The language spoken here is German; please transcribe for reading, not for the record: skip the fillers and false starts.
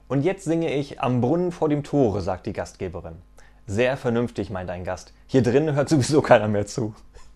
Und jetzt singe ich Am Brunnen vor dem Tore, sagt die Gastgeberin. Sehr vernünftig, meint ein Gast. Hier drinnen hört sowieso keiner mehr zu.